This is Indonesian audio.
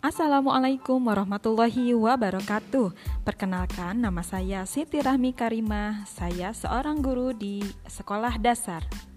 Assalamualaikum warahmatullahi wabarakatuh. Perkenalkan, nama saya Siti Rahmi Karimah. Saya seorang guru di sekolah dasar.